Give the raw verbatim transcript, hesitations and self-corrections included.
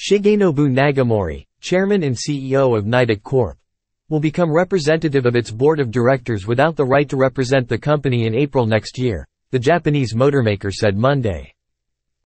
Shigenobu Nagamori, chairman and C E O of Nidec Corp, will become representative of its board of directors without the right to represent the company in April next year, the Japanese motormaker said Monday.